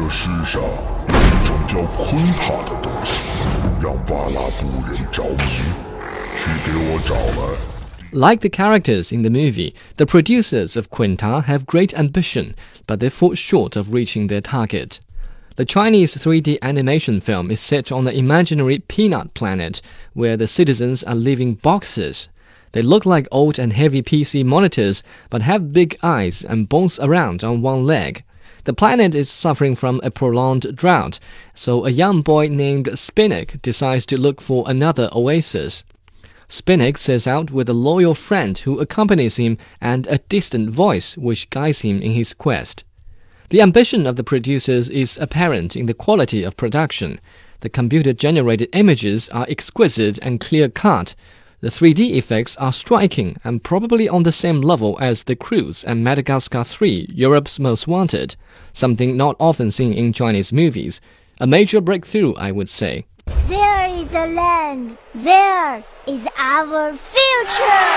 这世上有一种叫昆塔的东西，让巴拉布人着迷，去给我找来。 Like the characters in the movie, the producers of Quinta have great ambition, but they fall short of reaching their target. The Chinese 3D animation film is set on the imaginary peanut planet, where the citizens are living boxes. They look like old and heavy PC monitors, but have big eyes and bounce around on one leg. The planet is suffering from a prolonged drought, so a young boy named Spinach decides to look for another oasis. Spinach sets out with a loyal friend who accompanies him and a distant voice which guides him in his quest. The ambition of the producers is apparent in the quality of production. The computer-generated images are exquisite and clear-cut. The 3D effects are striking and probably on the same level as The Cruise and Madagascar 3, Europe's Most Wanted, something not often seen in Chinese movies. A major breakthrough, I would say. There is a land. There is our future.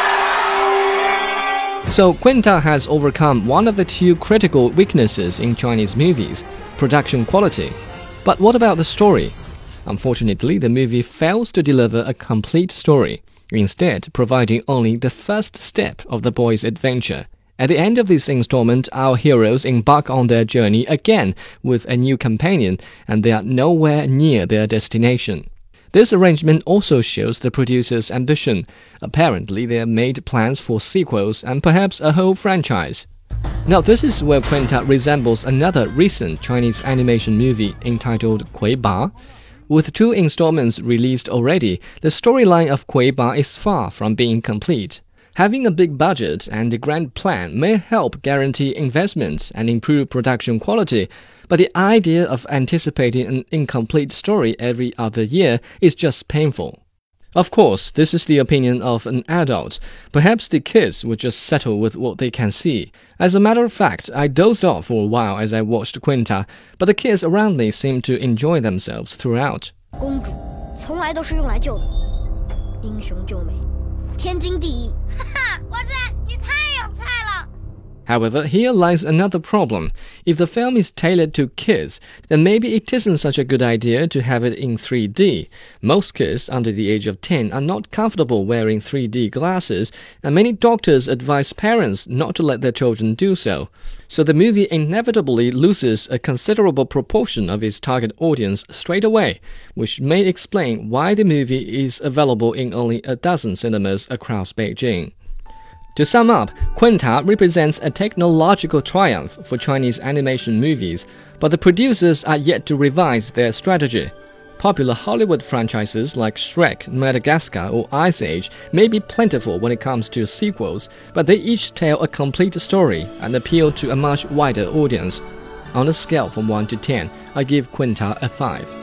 So Quinta has overcome one of the two critical weaknesses in Chinese movies, production quality. But what about the story? Unfortunately, the movie fails to deliver a complete story, instead providing only the first step of the boy's adventure. At the end of this installment, our heroes embark on their journey again with a new companion, and they are nowhere near their destination. This arrangement also shows the producer's ambition. Apparently, they have made plans for sequels and perhaps a whole franchise. Now, this is where Quinta resembles another recent Chinese animation movie entitled Kui Ba. With 2 installments released already, the storyline of Kui Ba is far from being complete. Having a big budget and a grand plan may help guarantee investment and improve production quality, but the idea of anticipating an incomplete story every other year is just painful. Of course, this is the opinion of an adult. Perhaps the kids would just settle with what they can see. As a matter of fact, I dozed off for a while as I watched Quinta, but the kids around me seemed to enjoy themselves throughout. 公主从来都是用来救的，英雄救美，天经地义。哈哈， 哇塞，你太有才了！ However, here lies another problem. If the film is tailored to kids, then maybe it isn't such a good idea to have it in 3D. Most kids under the age of 10 are not comfortable wearing 3D glasses, and many doctors advise parents not to let their children do so. So the movie inevitably loses a considerable proportion of its target audience straight away, which may explain why the movie is available in only a dozen cinemas across Beijing. To sum up, Quinta represents a technological triumph for Chinese animation movies, but the producers are yet to revise their strategy. Popular Hollywood franchises like Shrek, Madagascar, or Ice Age may be plentiful when it comes to sequels, but they each tell a complete story and appeal to a much wider audience. On a scale from 1 to 10, I give Quinta a 5.